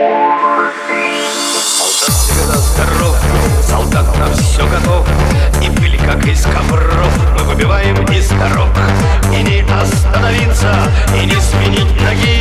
Солдат всегда здоров, солдат на все готов. И пыль, как из ковров, мы выбиваем из дорог. И не остановиться, и не сменить ноги.